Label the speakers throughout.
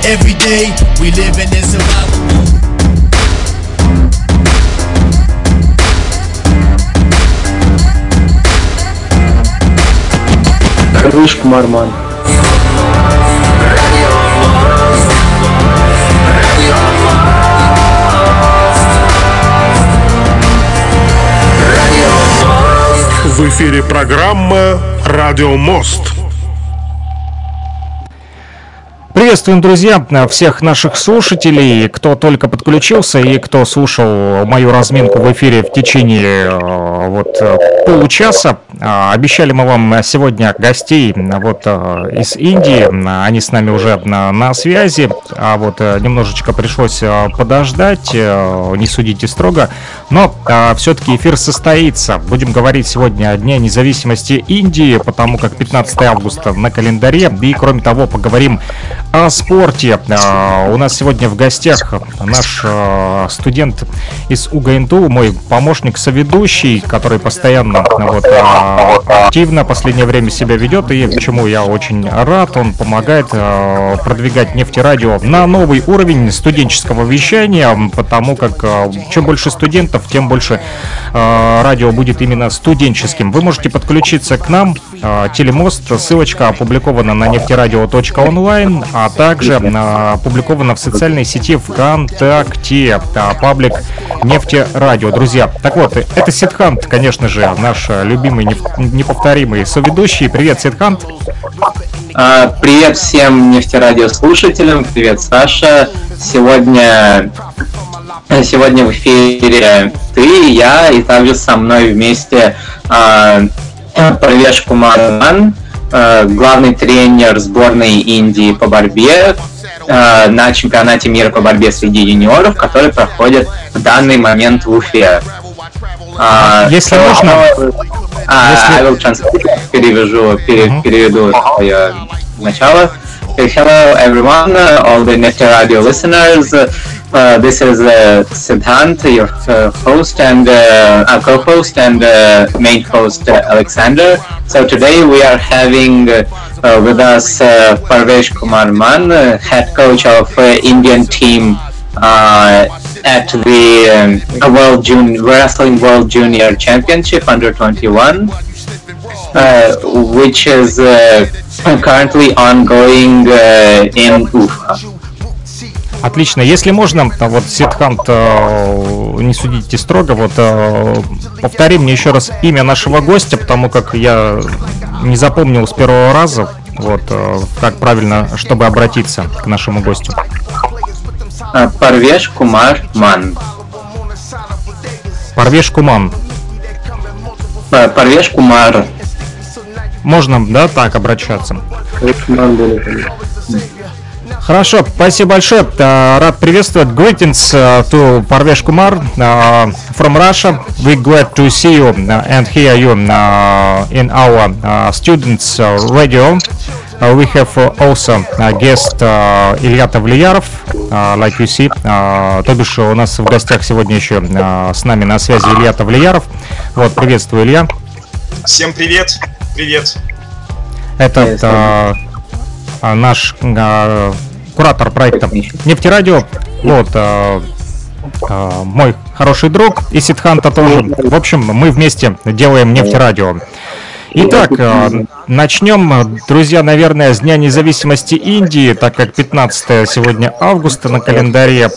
Speaker 1: every day we living in survival.
Speaker 2: Parvesh Kumar Man.
Speaker 3: В эфире программа «Радио Мост».
Speaker 4: Приветствуем, друзья, всех наших слушателей, кто только подключился и кто слушал мою разминку в эфире в течение получаса. Обещали мы вам сегодня гостей из Индии, они с нами уже на связи, немножечко пришлось подождать, не судите строго, но все-таки эфир состоится. Будем говорить сегодня о Дне независимости Индии, потому как 15 августа на календаре, и кроме того поговорим о спорте. У нас сегодня в гостях наш студент из УГНТУ, мой помощник-соведущий, который постоянно активно в последнее время себя ведет, и почему я очень рад. Он помогает продвигать нефтерадио на новый уровень студенческого вещания, потому как чем больше студентов, тем больше радио будет именно студенческим. Вы можете подключиться к нам, Телемост, ссылочка опубликована на нефтерадио.онлайн, а также опубликована в социальной сети ВКонтакте, паблик Нефтерадио. Друзья, так вот, это Сидхант, конечно же, наш любимый, неповторимый соведущий. Привет, Сидхант.
Speaker 2: Привет всем Нефтерадио слушателям, привет, Саша. Сегодня в эфире ты, я, и также со мной вместе Парвеш Кумар Ман, главный тренер сборной Индии по борьбе на чемпионате мира по борьбе среди юниоров, который проходит в данный момент в Уфе.
Speaker 4: Если можно...
Speaker 2: I will translate, переведу свое начало. Hello everyone, all the Nefter Radio listeners. This is Siddhant, your host and co-host and main host Alexander. So today we are having with us Parvesh Kumar Man, head coach of Indian team at the Wrestling World Junior Championship under 21, which is currently ongoing in Ufa.
Speaker 4: Отлично. Если можно, Сидхант, не судите строго, повтори мне еще раз имя нашего гостя, потому как я не запомнил с первого раза, как правильно, чтобы обратиться к нашему гостю.
Speaker 2: Парвеш Кумар Ман.
Speaker 4: Парвеш Куман.
Speaker 2: Парвеш Кумар.
Speaker 4: Можно, да, так обращаться? Хорошо, спасибо большое. Рад приветствовать. Greetings to Parvesh Kumar from Russia. We're glad to see you and hear you in our students radio. We have also guest Илья Тавлияров, like you see. То бишь у нас в гостях сегодня еще с нами на связи Илья Тавлияров. Приветствую, Илья.
Speaker 5: Всем привет. Привет.
Speaker 4: Это наш куратор проекта Нефтерадио, мой хороший друг, и Сидханта тоже. В общем, мы вместе делаем Нефтерадио. Итак, начнем, друзья, наверное, с Дня независимости Индии, так как 15 сегодня августа на календаре.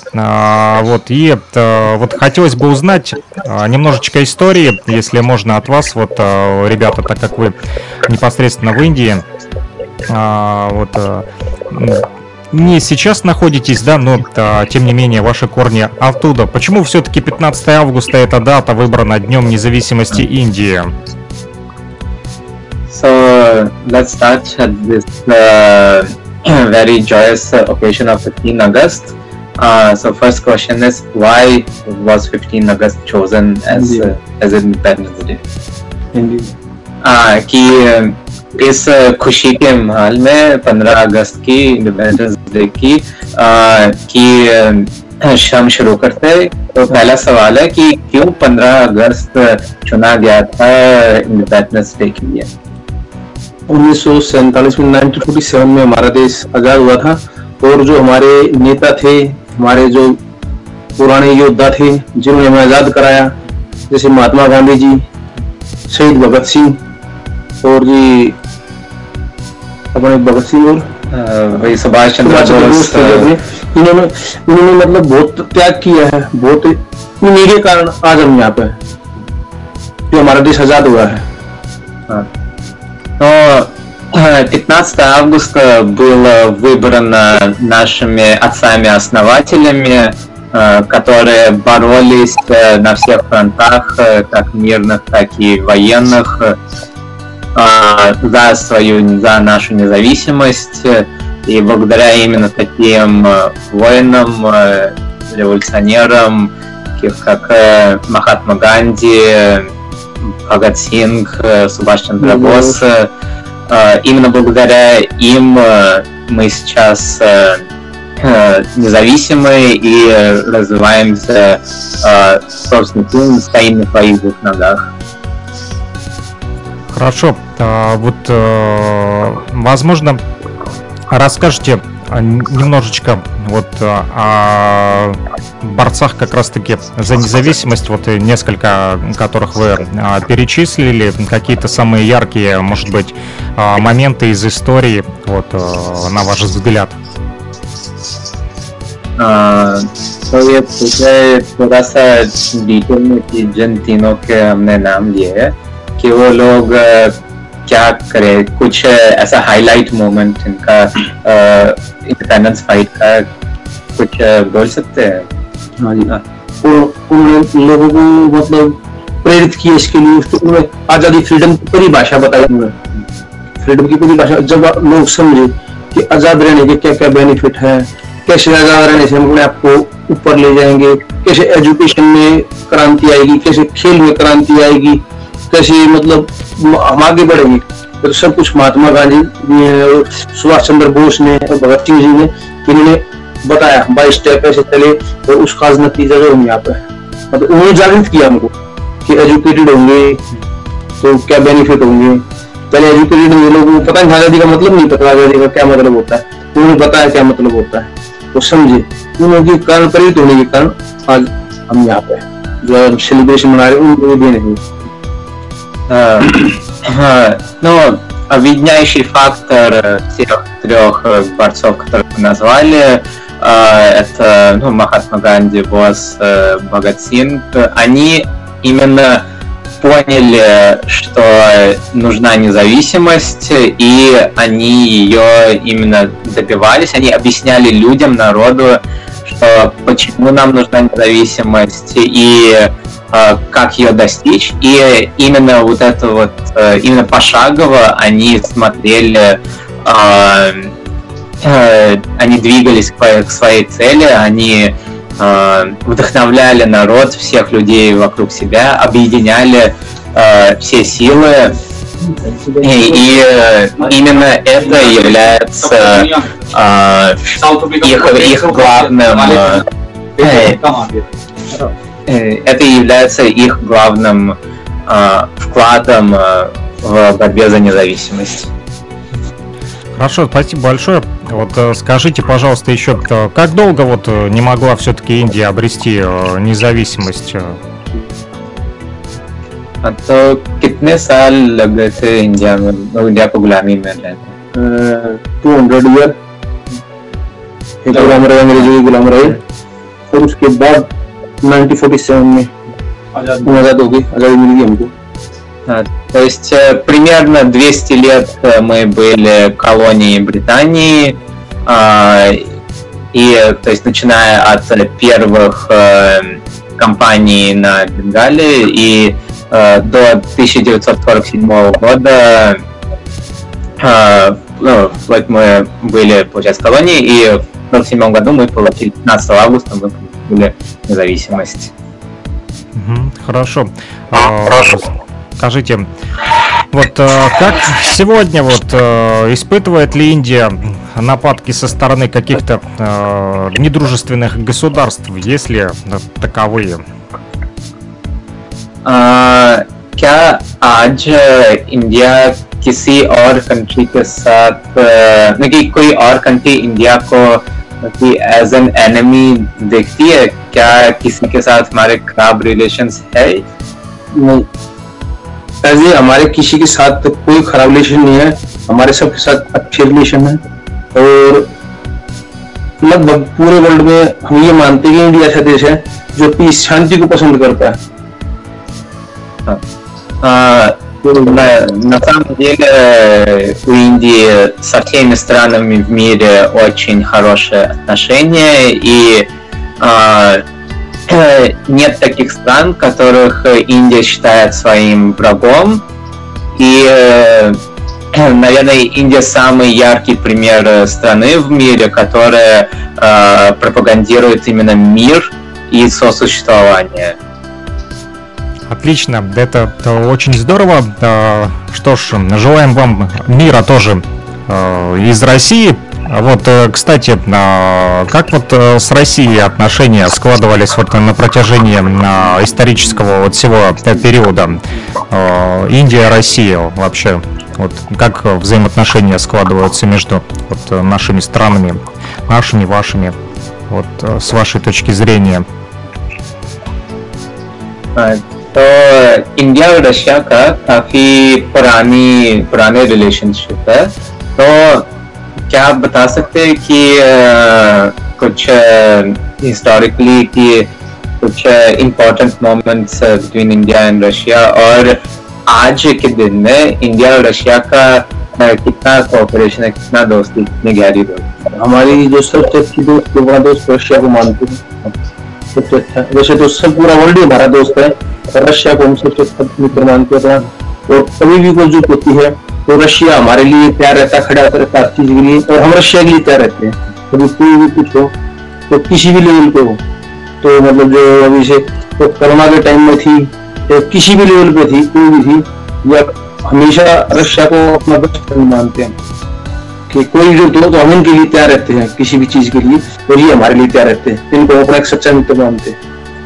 Speaker 4: Хотелось бы узнать немножечко истории, если можно, от вас, ребята, так как вы непосредственно в Индии. Не сейчас находитесь, да, но тем не менее ваши корни оттуда. Почему все-таки 15 августа эта дата выбрана Днем независимости Индии?
Speaker 2: So let's start at this very joyous occasion of 15 August. So first question is, why was 15 August chosen as Independence Day? कि इस खुशी के माहौल में 15 अगस्त की independence day की शाम शुरू करते हैं। तो पहला सवाल है कि क्यों 15 अगस्त चुना गया था इंडिपेंडेंस डे के लिए?
Speaker 6: 1947 में 1947 में हमारा देश आजाद हुआ था और जो हमारे नेता थे, हमारे जो पुराने योद्धा थे जिन्होंने हमें आजाद कराया, जैसे महात्मा गांधी जी, शहीद भगत सिंह और जी अपने भगत सिंह और
Speaker 2: वही सुभाष चंद्र बोस,
Speaker 6: इन्होंने मतलब बहुत त्याग किया है, बहुत इन्हीं के कारण आज हम यहाँ पे जो हमारा देश आजाद हुआ है.
Speaker 2: Но 15 августа был выбран нашими отцами-основателями, которые боролись на всех фронтах, как мирных, так и военных, за нашу независимость. И благодаря именно таким воинам, революционерам, таких как Махатма Ганди, Бхагат Синг, Субхаш Чандра Бос, именно благодаря им мы сейчас независимы и развиваемся собственно, стоим на своих двух ногах.
Speaker 4: Хорошо. Вот, возможно, расскажете немножечко вот о борцах как раз-таки за независимость, вот несколько которых вы перечислили, какие-то самые яркие, может быть, моменты из истории, вот, на ваш взгляд.
Speaker 2: तो ये पूछे थोड़ा सा डिटेल में कि जिन तीनों के हमने नाम लिए हैं कि वो लोग क्या करें, कुछ ऐसा हाईलाइट मोमेंट इनका इंडिपेंडेंस फाइट का कुछ बोल सकते हैं?
Speaker 6: हाँ जी, हाँ. उन लोगों को मतलब प्रेरित किया इसके लिए, उन्होंने आजादी, फ्रीडम की परिभाषा बताई. उन्होंने फ्रीडम की परिभाषा जब लोग समझे कि आजाद रहने के क्या क्या बेनिफिट है, कैसे आजाद रहने से हम अपने आप को ऊपर ले जाएंगे, कैसे एजुकेशन में क्रांति आएगी, कैसे खेल में क्रांति आएगी, कैसे मतलब हम आगे बढ़ेंगे, तो सब कुछ महात्मा गांधी, सुभाष चंद्र बोस ने और भगत सिंह जी ने इन्होंने बताया. 22 स्टेप ऐसे चले और उसका नतीजा जो हम यहाँ पे मतलब उन्होंने जागृत किया हमको कि एजुकेटेड होंगे तो क्या बेनिफिट होंगे. पहले एजुकेटेड लोगों को पता नहीं, आजादी का मतलब नहीं पता, आजादी का क्या मतलब होता है, उन्होंने बताया क्या मतलब होता है, तो समझे. उनके कारण, प्रेरित होने के कारण आज हम यहाँ पे जो सेलिब्रेशन मना रहे हैं, उनको भी नहीं.
Speaker 2: Ну, объединяющий фактор всех трех борцов, которых мы назвали, это Махатма Ганди, Босс, Бхагат Синг. Они именно поняли, что нужна независимость, и они ее именно добивались. Они объясняли людям, народу, что почему нам нужна независимость и как ее достичь. И именно вот это вот, именно пошагово они смотрели, они двигались к своей цели, они вдохновляли народ, всех людей вокруг себя, объединяли все силы, и именно это является их главным, это является их главным вкладом в борьбе за независимость.
Speaker 4: Хорошо, спасибо большое. Вот скажите, пожалуйста, еще, как долго вот не могла все-таки Индия обрести независимость?
Speaker 2: तो कितने साल लग गए थे इंडिया में, इंडिया को गुलामी में रहने?
Speaker 6: 200 ईयर एक गुलाम रहे, अंग्रेजों की गुलाम रहे, और उसके बाद 1947 में आजाद हो गई, आजादी मिल गई हमको.
Speaker 2: То есть примерно 200 лет мы были колонией Британии, и то есть начиная от первых кампаний на Бенгале и до 1947 года вот мы были, получается, колонией, и в 1947 году мы получили, 15 августа мы получили независимость.
Speaker 4: Хорошо. Скажите, вот как сегодня вот испытывает ли Индия нападки со стороны каких-то недружественных государств, есть ли таковые?
Speaker 2: क्या आज इंडिया किसी और कंट्री के साथ कि कोई और कंट्री इंडिया को कि एज एन एनिमी देखती है? क्या किसी के साथ हमारे खराब रिलेशंस है?
Speaker 6: नहीं, ऐसे हमारे किसी के साथ कोई खराब रिलेशन नहीं है, हमारे सबके साथ अच्छे रिलेशन है। और लगभग पूरे वर्ल्ड में हम ये मानते हैं कि इंडिया ऐसा देश है जो पीस, शांति को पसंद करता है।
Speaker 2: На самом деле у Индии со всеми странами в мире очень хорошие отношения, и нет таких стран, которых Индия считает своим врагом. И, наверное, Индия самый яркий пример страны в мире, которая пропагандирует именно мир и сосуществование.
Speaker 4: Отлично, это очень здорово. Что ж, желаем вам мира тоже из России. Вот, кстати, как вот с Россией отношения складывались вот на протяжении исторического вот всего периода? Индия, Россия вообще, вот как взаимоотношения складываются между вот нашими странами, нашими, вашими, вот с вашей точки зрения?
Speaker 2: तो इंडिया और रशिया का काफी पुराने रिलेशनशिप है। तो क्या आप बता सकते हैं कि कुछ हिस्टोरिकली कि कुछ important moments between India and Russia, और आज के दिन में इंडिया और रशिया का कितना कोऑपरेशन है, कितना दोस्ती, कितनी गहरी दोस्ती?
Speaker 6: हमारी जो सबसे अच्छी दोस्त, बड़ा दोस्त रशिया को मानते हैं सबसे अच्छा। वैसे तो सब पूरा वर्ल्ड ही हमारा दोस्त है, रशिया को हम सबसे अच्छा मित्र मानते हैं। और कभी भी कोई जरूरत होती है तो रशिया हमारे लिए तैयार रहता है, खड़ा रहता है हर चीज के लिए, और हम रशिया के लिए तैयार रहते हैं। कभी कोई भी कुछ हो तो किसी भी लेवल पे हो, तो मतलब जो अभी से तो कोरोना के टाइम में थी, तो किसी भी लेवल पे थी, कोई भी थी, या हमेशा रशिया को अपना बेस्ट फ्रेंड मानते हैं कि कोई जरूरत हो तो हम इनके लिए तैयार रहते हैं, किसी भी चीज के लिए, और ये हमारे लिए तैयार रहते हैं। इनको अपना एक सच्चा मित्र मानते हैं।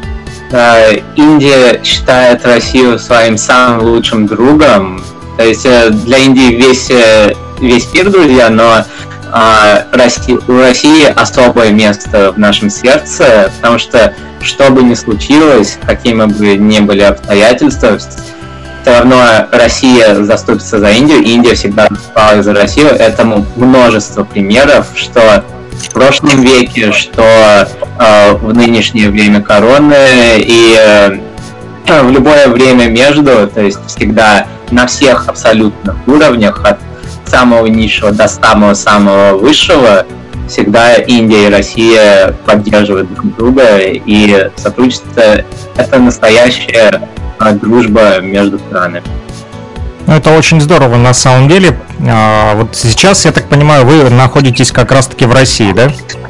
Speaker 2: Индия считает Россию своим самым лучшим другом. То есть для Индии весь мир друзья, но у России особое место в нашем сердце, потому что бы ни случилось, какими бы ни были обстоятельства, все равно Россия заступится за Индию, и Индия всегда выступала за Россию. Этому множество примеров, что в прошлом веке, что в нынешнее время короны, и в любое время между, то есть всегда на всех абсолютных уровнях, от самого низшего до самого высшего, всегда Индия и Россия поддерживают друг друга, и сотрудничество — это настоящая дружба между странами.
Speaker 4: Ну, это очень здорово на самом деле. Вот сейчас, я так понимаю, вы находитесь как раз-таки в России, да?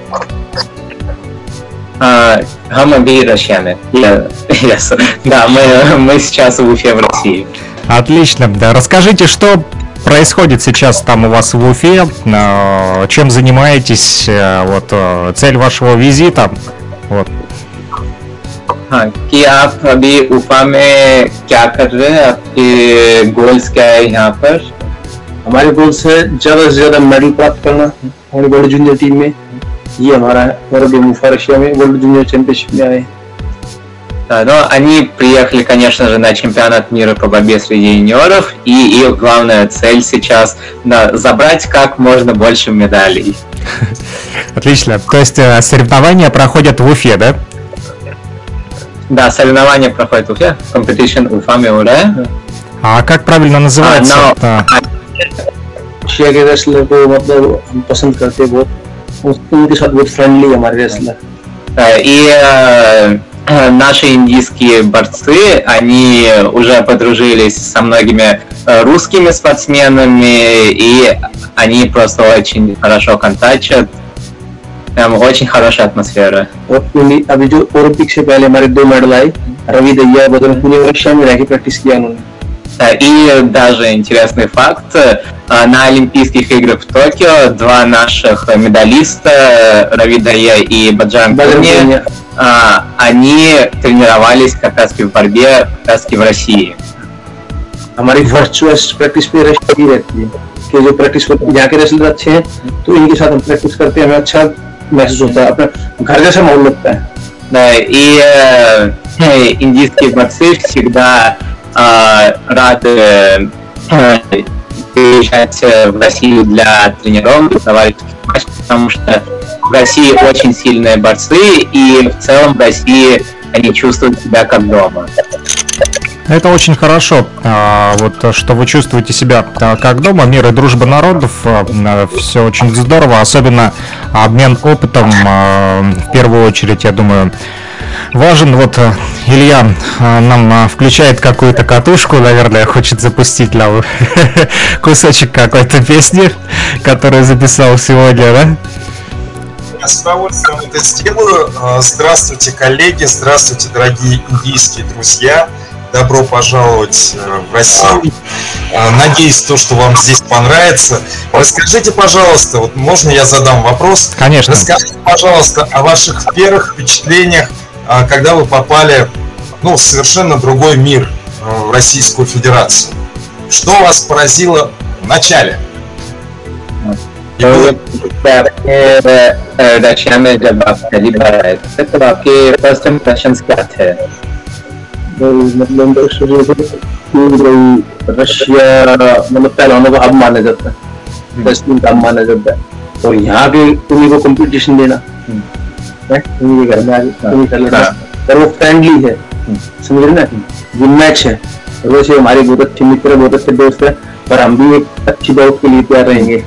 Speaker 2: हम अभी रशिया में. Yes. Да, мы сейчас в Уфе, в России.
Speaker 4: Отлично. Да, расскажите, что происходит сейчас там у вас в Уфе, чем занимаетесь, вот цель вашего визита, вот.
Speaker 2: कि आप अभी उफा में क्या कर रहे हैं, आपके गोल्स क्या है यहाँ पर?
Speaker 6: हमारे गोल्स है ज्यादा से ज्यादा मेडल प्राप्त करना हमारी वर्ल्ड जूनियर टीम में, ये हमारा है। और अभी उफा रशिया में वर्ल्ड जूनियर चैंपियनशिप में आए।
Speaker 2: Да, но они приехали, конечно же, на чемпионат мира по борьбе среди юниоров, и их главная цель сейчас забрать как можно больше медалей.
Speaker 4: Отлично. То есть соревнования проходят в Уфе, да?
Speaker 2: Да, соревнования проходят в Уфе, competition Уфа में हो रहा है.
Speaker 4: А как правильно называется?
Speaker 6: रशिया के रेसलर को मतलब हम पसंद करते हैं बहुत, उनके साथ बहुत फ्रेंडली हमारे रेसलर.
Speaker 2: И наши индийские борцы, они уже подружились со многими русскими спортсменами, и они просто очень хорошо контачат. Прям очень хорошая атмосфера.
Speaker 6: और अभी जो ओलंपिक से पहले हमारे 2 मेडल आए, रवि दैया बदल पूरे रशिया में रह के प्रैक्टिस किया उन्होंने.
Speaker 2: И даже интересный факт, на Олимпийских играх в Токио 2 наших медалиста, Рави Дайя и Баджан Пуни, они тренировались как раз в борьбе как раз в России.
Speaker 6: हमारी फर्स्ट चॉइस प्रैक्टिस पे रशिया की रहती है कि जो प्रैक्टिस करते हैं यहाँ के रेसलर अच्छे हैं तो इनके साथ हम प्रैक्टिस करते हैं, हमें अच्छा महसूस होता है, अपना घर जैसा माहौल लगता है.
Speaker 2: Да, и индийские борцы всегда рады приезжать в Россию для тренировок, товарищеских матчей, потому что в России очень сильные борцы, и в целом в России они чувствуют себя как дома.
Speaker 4: Это очень хорошо, вот что вы чувствуете себя как дома. Мир и дружба народов, все очень здорово, особенно обмен опытом, в первую очередь, я думаю, важен. Вот Илья нам включает какую-то катушку, наверное, хочет запустить нам кусочек какой-то песни, которую записал сегодня, да?
Speaker 5: Я с удовольствием это сделаю. Здравствуйте, коллеги, здравствуйте, дорогие индийские друзья. Добро пожаловать в Россию. Надеюсь, то, что вам здесь понравится. Расскажите, пожалуйста, вот можно я задам вопрос?
Speaker 4: Конечно.
Speaker 5: Расскажите, пожалуйста, о ваших первых впечатлениях, когда вы попали, в совершенно другой мир, в Российскую Федерацию. Что вас поразило в начале?
Speaker 2: रशिया में जब आप पहली बार आए थे तो आपके फर्स्ट इम्प्रेशंस क्या थे?
Speaker 6: मतलब रशिया मतलब पहला अनुभव माना जाता है, बेस्ट काम माना जाता है, और यहाँ पे तुम्हें को कंपटीशन देना है, तुम्हें घर में आगे तुम्हें कर लेना, और वो फ्रेंडली है, समझ रहे ना, ये मैच है, और वैसे हमारे बहुत अच्छे मित्र, बहुत अच्छे दोस्त है, पर हम भी एक अच्छी बात के लिए तैयार रहेंगे.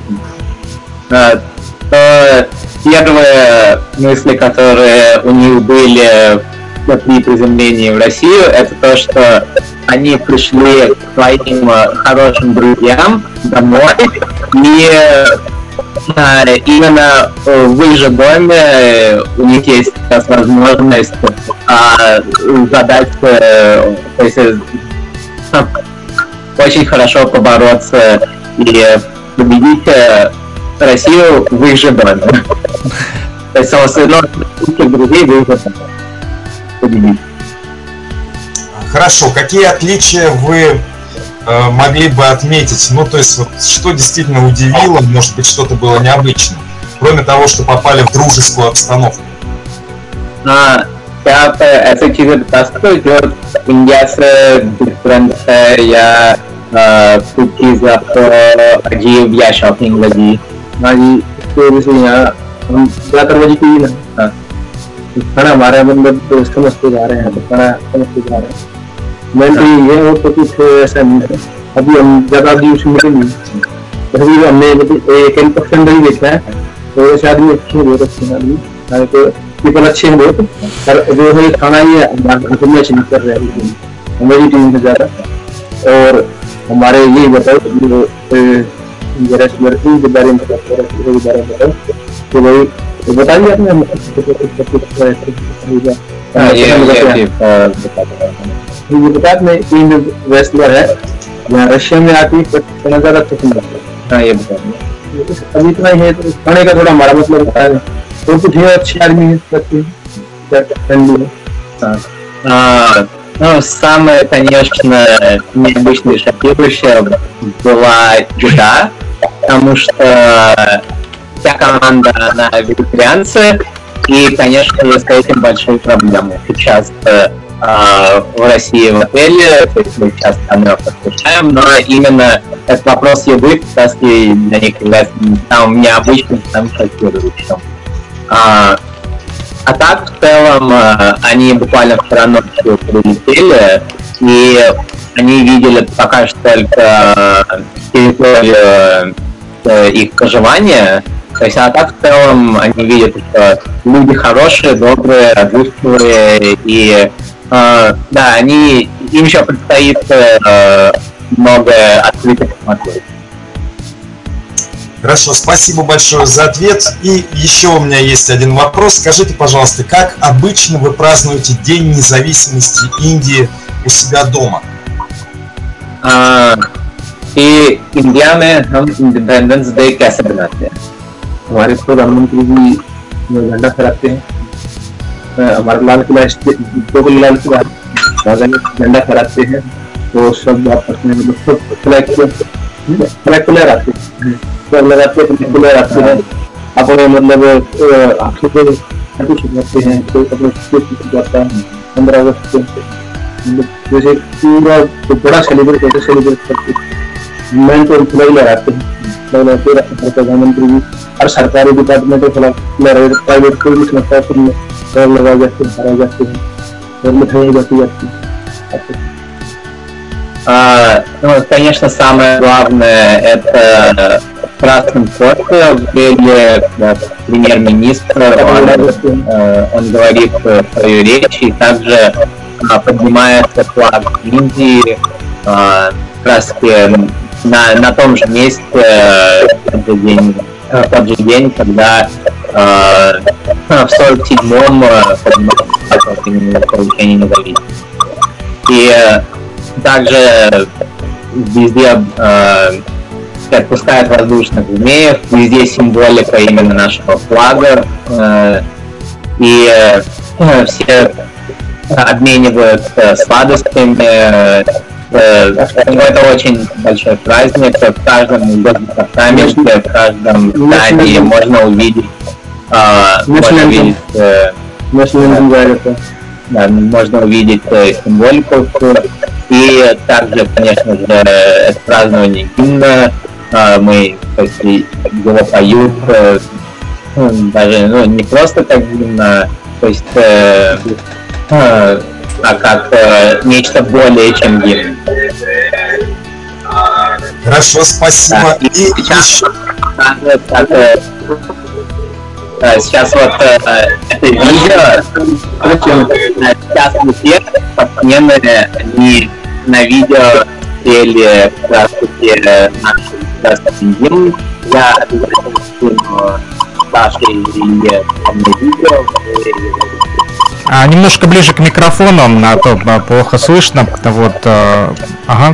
Speaker 2: Первые мысли, которые у них были при приземлении в Россию, это то, что они пришли к своим хорошим друзьям домой, и именно в их же доме у них есть сейчас возможность задать, то есть очень хорошо побороться и победить Россию в их же доме. То есть самостоятельно друзей в их же доме победить.
Speaker 5: Хорошо, какие отличия вы могли бы отметить? То есть, вот, что действительно удивило, может быть, что-то было необычным, кроме того, что попали в дружескую обстановку?
Speaker 2: क्या आप ऐसे चीजें बता सकते हो जो इंडिया से डिफरेंट है या कुछ चीज आपको अजीब या शॉकिंग लगी?
Speaker 6: हाँ जी, तो जैसे यहाँ हम ज्यादातर वजह की ना खाना हमारे मतलब तो समझते जा रहे हैं, तो खाना समझते जा रहे हैं, मेन तो ये है, तो कुछ ऐसा नहीं है. अभी हम ज्यादा भी उसमें नहीं, अभी हमने एक अंदर ही देखा है, तो ऐसे आदमी अच्छे हैं, बहुत अच्छे हैं आदमी, तो पीपल अच्छे हैं बहुत, पर जो है खाना ये मैच नहीं कर रहे हैं हमारी टीम से ज्यादा. और हमारे यही बताओ रेसलर के बारे में बताओ तो भाई बताइए आपने ये बता में तीन रेसलर है यहाँ रशिया में आती करना ज्यादा पसंद आता है. हाँ ये बता अभी इतना ही है, तो खाने का थोड़ा हमारा मतलब बता है, तो कुछ है अच्छे आदमी है.
Speaker 2: Самое, конечно, необычное, шокирующее была еда, потому что вся команда, она вегетарианцы, и, конечно, есть с этим большие проблемы. Сейчас в России в отеле, то есть мы часто там подключаем, но именно этот вопрос еды, как раз и для них является самым необычным, самым шокирующим. А так, в целом, они буквально вчера ночью прилетели, и они видели пока что только территорию их проживания. То есть, а так, в целом, они видят, что люди хорошие, добрые, отзывчивые, и да, им еще предстоит многое открыть и посмотреть.
Speaker 5: Хорошо, спасибо большое за ответ. И еще у меня есть один вопрос. Скажите, пожалуйста, как обычно вы празднуете День независимости Индии у себя дома?
Speaker 2: И इंडिया में हम इंडिपेंडेंस डे कैसे बनाते हैं?
Speaker 6: हमारे प्रधानमंत्री जी झंडा फहराते हैं, हमारा लाल किला लाल किला झंडा फहराते हैं, वो सब आपस में मतलब फ्लैग लगाते हैं अपने मतलब आंखों पे कुछ करते हैं कोई अपने जाता है 15 अगस्त को जैसे पूरा बड़ा सेलिब्रेट करते हैं मैं तो फ्लैग लगाते हैं प्रधानमंत्री जी और सरकारी डिपार्टमेंट प्राइवेट कोई भी संस्था लगाए जाते हैं हराए जाते हैं और मिठाई जाती है.
Speaker 2: Ну, конечно, самое главное — это красный флаг, где премьер-министр, он говорит свою речь, и также поднимается флаг Индии как раз на том же месте в тот же день, когда в 47-м поднимался получение независимости. И также везде отпускают воздушных змеев, везде символика именно нашего флага, и все обмениваются сладостями. Это очень большой праздник. В каждом департаменте, в каждом здании можно увидеть, можно увидеть символику. И также, конечно же, это празднование гимна. Мы его поют даже не просто как гимна, то есть а как нечто более чем гимн.
Speaker 5: Хорошо, спасибо.
Speaker 2: Да, и сейчас вот это видео, сейчас все спортсмены, они на видео пели как раз таки наш государственный гимн. Я обязательно скину Саше и Илье видео.
Speaker 4: Немножко ближе к микрофону, а то плохо слышно. Вот, ага.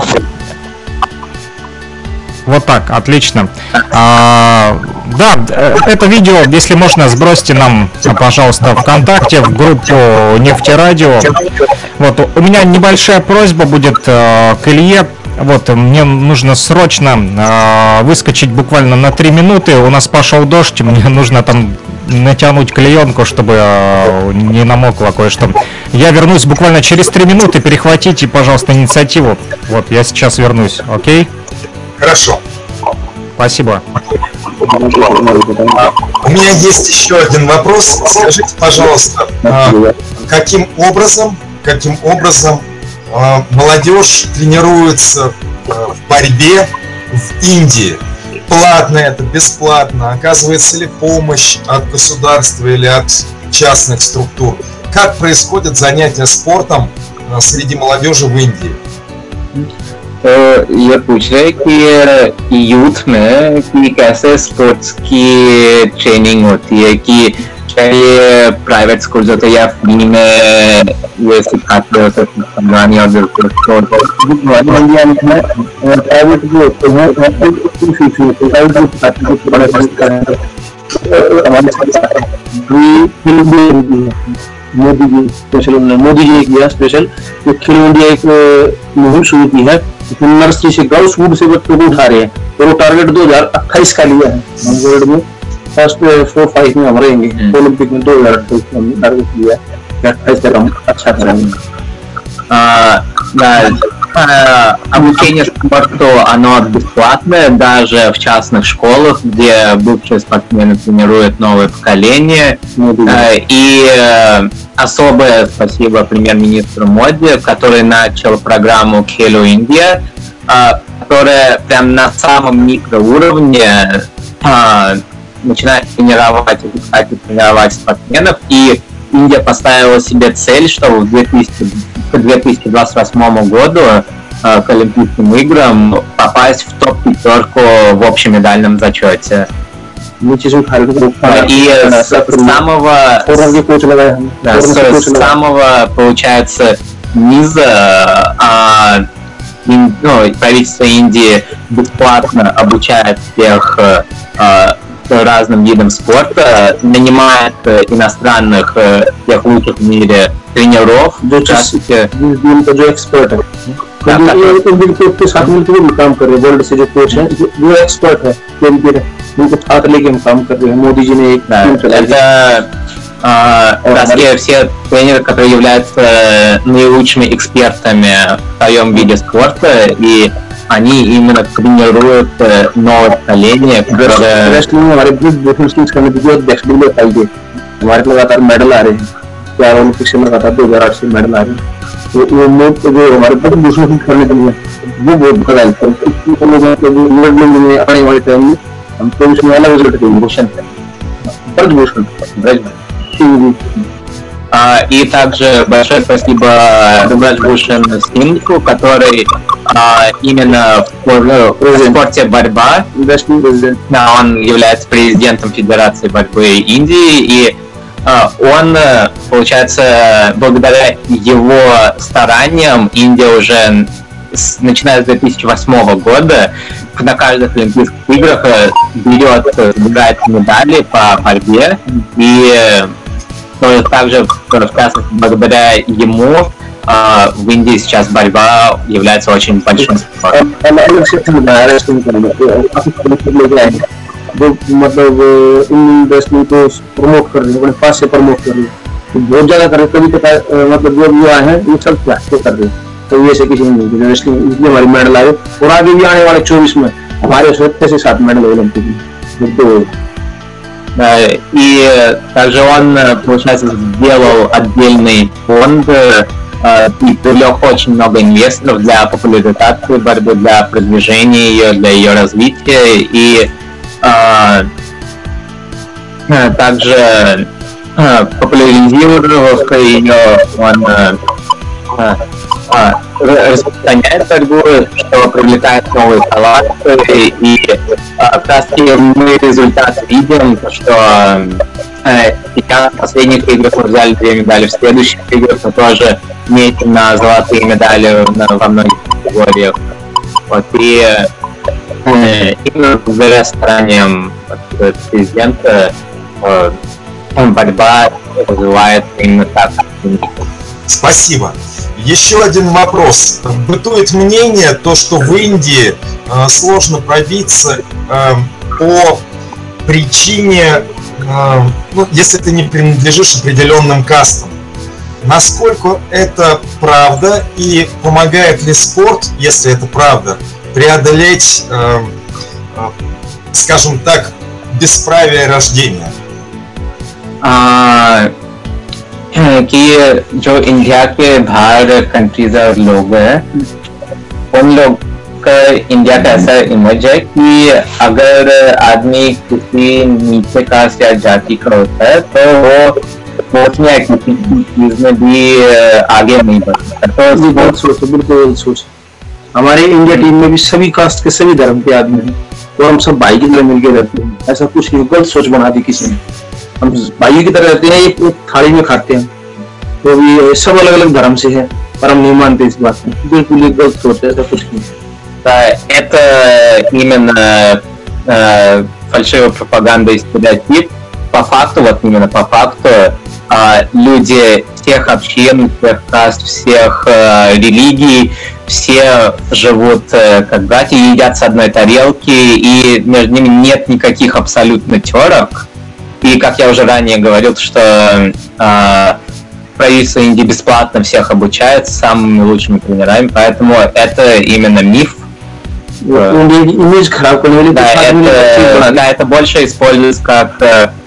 Speaker 4: Вот так, отлично. Да, это видео, если можно, сбросьте нам, пожалуйста, ВКонтакте, в группу Нефтерадио. Вот, у меня небольшая просьба будет к Илье. Вот, мне нужно срочно выскочить буквально на 3 минуты. У нас пошел дождь, мне нужно там натянуть клеенку, чтобы не намокло кое-что. Я вернусь буквально через 3 минуты. Перехватите, пожалуйста, инициативу. Вот, я сейчас вернусь, окей?
Speaker 5: Хорошо.
Speaker 4: Спасибо.
Speaker 5: У меня есть еще один вопрос. Скажите, пожалуйста, каким образом молодежь тренируется в борьбе в Индии? Платно это, бесплатно? Оказывается ли помощь от государства или от частных структур? Как происходят занятия спортом среди молодежи в Индии?
Speaker 2: ये पूछ रहे कि यूथ में कि कैसे स्पोर्ट्स की ट्रेनिंग होती है, कि चाहे प्राइवेट स्कूल होते हैं या फ्री में ये सिखाते होते हैं संभानी और बिल्कुल प्राइवेट भी होते हैं मोदी जी किया स्पेशल खेलो इंडिया एक मुहिम शुरू की है, नर्सरी से गर्ल्स वुड से बच्चों को उठा रहे हैं और वो टारगेट 2028 का लिया है। वर्ल्ड में फर्स्ट 4-5 में हम रहेंगे, ओलंपिक में 2028 में टारगेट लिया है, 28 तक हम अच्छा करेंगे। Обучение спорту, оно бесплатное, даже в частных школах, где бывшие спортсмены тренируют новое поколение. И особое спасибо премьер-министру Моди, который начал программу Khelo India, которая прям на самом микроуровне начинает тренировать спортсменов. И Индия поставила себе цель, что к 2028 году к Олимпийским играм попасть в топ-5 в общемедальном зачете. И с самого, получается, низа правительство Индии бесплатно обучает всех разным видам спорта, нанимает иностранных, тех лучших в мире тренеров, экспертов,
Speaker 6: कोच के साथ मिलकर भी काम कर रहे हैं, वर्ल्ड से जो कोच है वो एक्सपर्ट है, उनको साथ लेके हम काम कर रहे हैं. मोदी जी ने एक
Speaker 2: это все тренеры, которые являются наилучшими экспертами в своем виде спорта, и они именно тренируют новое поколение, которое...
Speaker 6: हमारे लगातार मेडल आ रहे हैं, क्या ओलंपिक से लगातार 2008 से मेडल आ रहे हैं, तो वो हमारे बहुत दूसरों करने के लिए वो बहुत बड़ा हेल्प आने वाले टाइम में हमको उसमें अलग रिजल्ट देंगे. भूषण ब्रजभूषण
Speaker 2: И также большое спасибо Браджбхушан Сингу, который именно в спорте борьба, он является президентом Федерации борьбы Индии, и он, получается, благодаря его стараниям Индия уже, начиная с 2008 года, на каждых Олимпийских играх собирает медали по борьбе, и также, в частности, благодаря ему в Индии сейчас борьба является очень большим спортом.
Speaker 6: मतलब इन इंडस्ट्री को प्रमोट कर रहे हैं, अपने पास से प्रमोट कर रहे हैं, तो बहुत ज्यादा कर रहे हैं. कभी मतलब जो युवा है वो सब प्लास्टिक कर रहे हैं, तो ये से किसी ने रेसलिंग इसलिए हमारी मेडल आए, और आगे भी आने वाले 24 में हमारे 7 मेडल ओलंपिक में.
Speaker 2: И также он, получается, сделал отдельный фонд и привлек очень много инвесторов для популяризации борьбы, для продвижения ее, для ее развития, и также популяризировав ее, он распространяет борьбу, что привлекает новые таланты, и как раз мы результат видим, что сейчас в последних играх мы взяли 2 медали, в следующих играх мы тоже метим на золотые медали во многих категориях. Вот, и именно благодаря стараниям президента борьба развивается именно так.
Speaker 5: Спасибо. Еще один вопрос. Бытует мнение, то, что в Индии сложно пробиться по причине, если ты не принадлежишь определенным кастам. Насколько это правда и помогает ли спорт, если это правда, преодолеть, скажем так, бесправие рождения?
Speaker 2: कि जो इंडिया के बाहर कंट्रीज और लोग हैं, उन लोग का इंडिया का ऐसा इमेज है कि अगर आदमी किसी नीचे कास्ट या जाति का होता है तो वो स्पोर्ट्स में किसी चीज में भी आगे नहीं बढ़ सकता. तो
Speaker 6: बहुत सोच, बिल्कुल सोच. हमारे इंडिया टीम में भी सभी कास्ट के सभी धर्म के आदमी हैं और हम सब भाई की तरह मिलकर रहते हैं. ऐसा कुछ नहीं, गलत सोच बना दी किसी ने. हम भाइयों की तरह रहते हैं, एक थाली में खाते हैं, तो भी सब अलग अलग धर्म से है, पर हम नहीं मानते इस बात में. बिल्कुल ये गलत सोच है, ऐसा कुछ नहीं.
Speaker 2: Это именно фальшивая пропаганда и стереотип. По факту, вот именно по факту, люди всех общин, всех каст, всех религий, все живут как братья, едят с одной тарелки, и между ними нет никаких абсолютно терок. И, как я уже ранее говорил, что правительство Индии бесплатно всех обучает самыми лучшими тренерами, поэтому это именно миф. Это больше используется как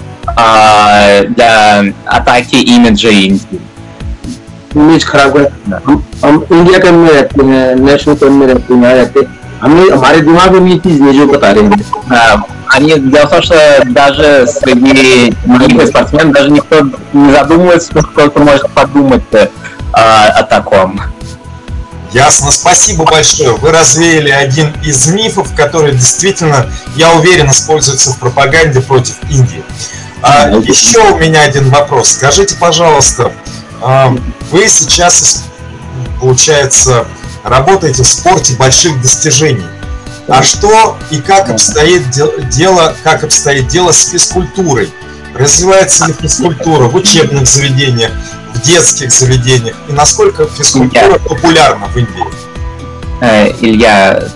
Speaker 2: для атаки имиджа Индии.
Speaker 6: इमेज खराब है. हम इंडिया के में रहते हैं, नेशनल टीम में रहते हैं, रहते हमें हमारे दिमाग में ये चीज जो बता रहे हैं.
Speaker 2: Дело в том, что даже среди многих спортсменов даже никто не задумывается, сколько может подумать о таком.
Speaker 5: Ясно, спасибо большое. Вы развеяли один из мифов, который действительно, я уверен, используется в пропаганде против Индии. Еще у меня один вопрос. Скажите, пожалуйста, вы сейчас, получается, работаете в спорте больших достижений. А что и как обстоит дело с физкультурой? Развивается ли физкультура в учебных заведениях, в детских заведениях? И насколько физкультура популярна в Индии?
Speaker 2: Илья,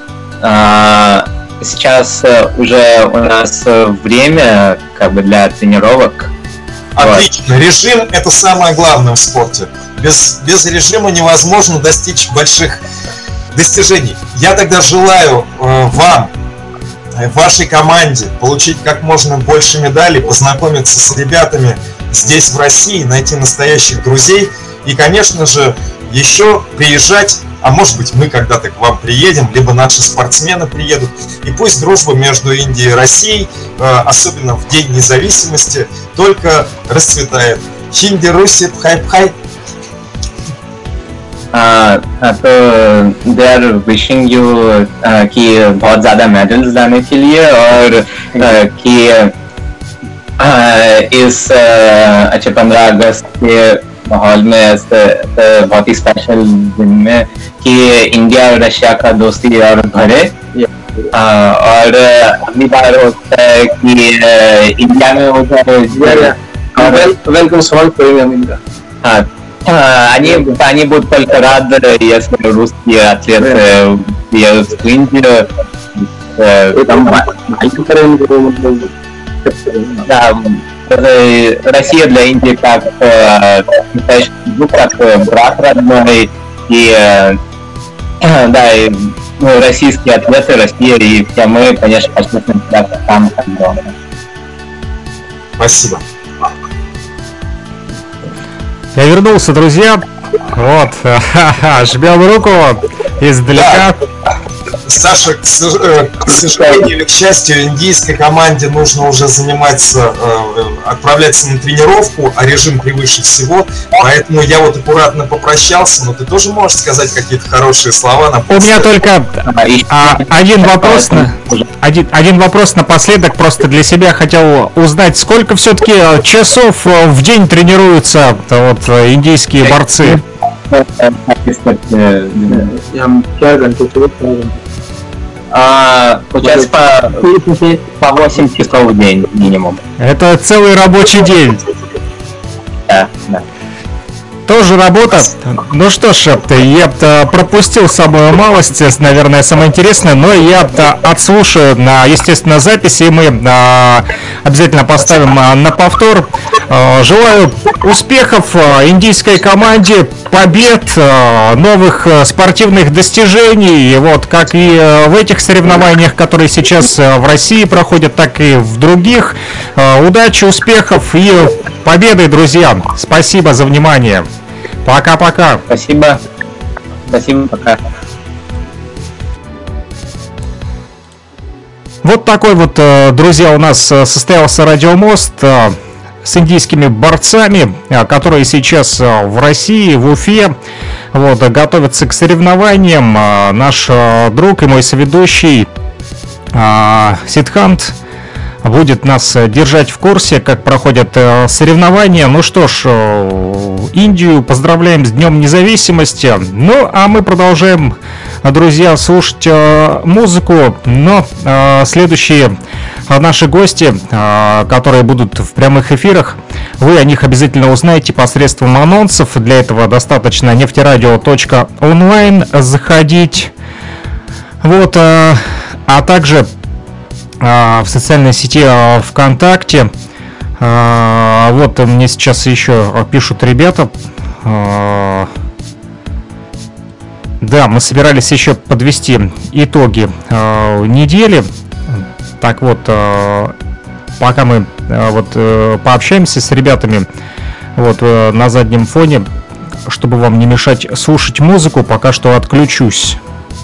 Speaker 2: сейчас уже у нас время как бы для тренировок.
Speaker 5: Отлично. Вот. Режим – это самое главное в спорте. Без режима невозможно достичь больших достижений. Я тогда желаю вам, вашей команде получить как можно больше медалей, познакомиться с ребятами здесь, в России, найти настоящих друзей и, конечно же, еще приезжать, а может быть мы когда-то к вам приедем, либо наши спортсмены приедут, и пусть дружба между Индией и Россией, особенно в День независимости, только расцветает. Хинди, Руси, пхай-пхай.
Speaker 2: तो दे आर विशिंग यू कि बहुत ज़्यादा मेडल्स लाने के लिए और कि इस अच्छे 15 अगस्त के माहौल में बहुत ही स्पेशल दिन में कि इंडिया और रशिया का दोस्ती और बढ़े और अगली बार होता है कि इंडिया में होता है
Speaker 6: वेलकम सॉल्व करेंगे इनका.
Speaker 2: Они будут только рады, если русские атлеты приедут в Индию. Да, Россия для Индии как брат родной, и да, и российские атлеты, Россия и все мы, конечно, почувствуем себя там, как дома.
Speaker 5: Спасибо.
Speaker 4: Я вернулся, друзья. Вот, жмем руку издалека.
Speaker 5: Да. Саша, к сожалению или к счастью, индийской команде нужно уже заниматься, отправляться на тренировку, а режим превыше всего. Поэтому я вот аккуратно попрощался, но ты тоже можешь сказать какие-то хорошие слова на
Speaker 4: У меня только один вопрос напоследок, просто для себя хотел узнать, сколько все-таки часов в день тренируются вот индийские борцы?
Speaker 2: Получается по 8 часов в день минимум.
Speaker 4: Это целый рабочий день.
Speaker 2: Да.
Speaker 4: Тоже работа. Ну что ж, я пропустил самую малость, наверное, самое интересное, но я отслушаю на, естественно, записи, и мы обязательно поставим на повтор. Желаю успехов индийской команде, побед, новых спортивных достижений, вот как и в этих соревнованиях, которые сейчас в России проходят, так и в других. Удачи, успехов и победы, друзья. Спасибо за внимание. Пока-пока.
Speaker 2: Спасибо. Спасибо, пока.
Speaker 4: Вот такой вот, друзья, у нас состоялся радиомост с индийскими борцами, которые сейчас в России, в Уфе, вот, готовятся к соревнованиям. Наш друг и мой соведущий Сидхант будет нас держать в курсе, как проходят соревнования. Ну что ж, Индию поздравляем с Днем Независимости. Ну, а мы продолжаем, друзья, слушать музыку. Но следующие наши гости, которые будут в прямых эфирах, вы о них обязательно узнаете посредством анонсов. Для этого достаточно нефтерадио.онлайн заходить. Вот, а также в социальной сети ВКонтакте. Вот мне сейчас еще пишут ребята. Да, мы собирались еще подвести итоги недели. Так вот, пока мы вот пообщаемся с ребятами вот на заднем фоне, чтобы вам не мешать слушать музыку, пока что отключусь.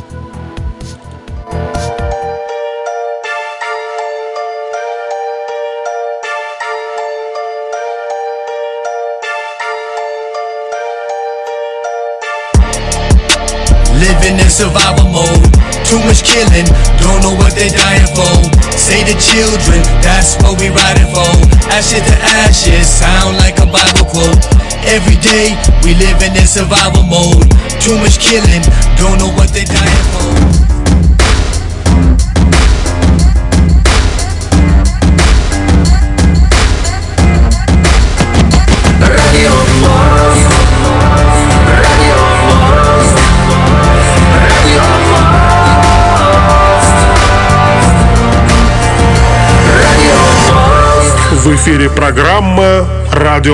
Speaker 1: Living in survival mode, too much killing, don't know what they dying for. Say the children, that's what we riding for. Ashes to ashes, sound like a Bible quote. Every day, we living in survival mode. Too much killing, don't know what they dying for.
Speaker 7: Radio
Speaker 3: эфире программа «Радио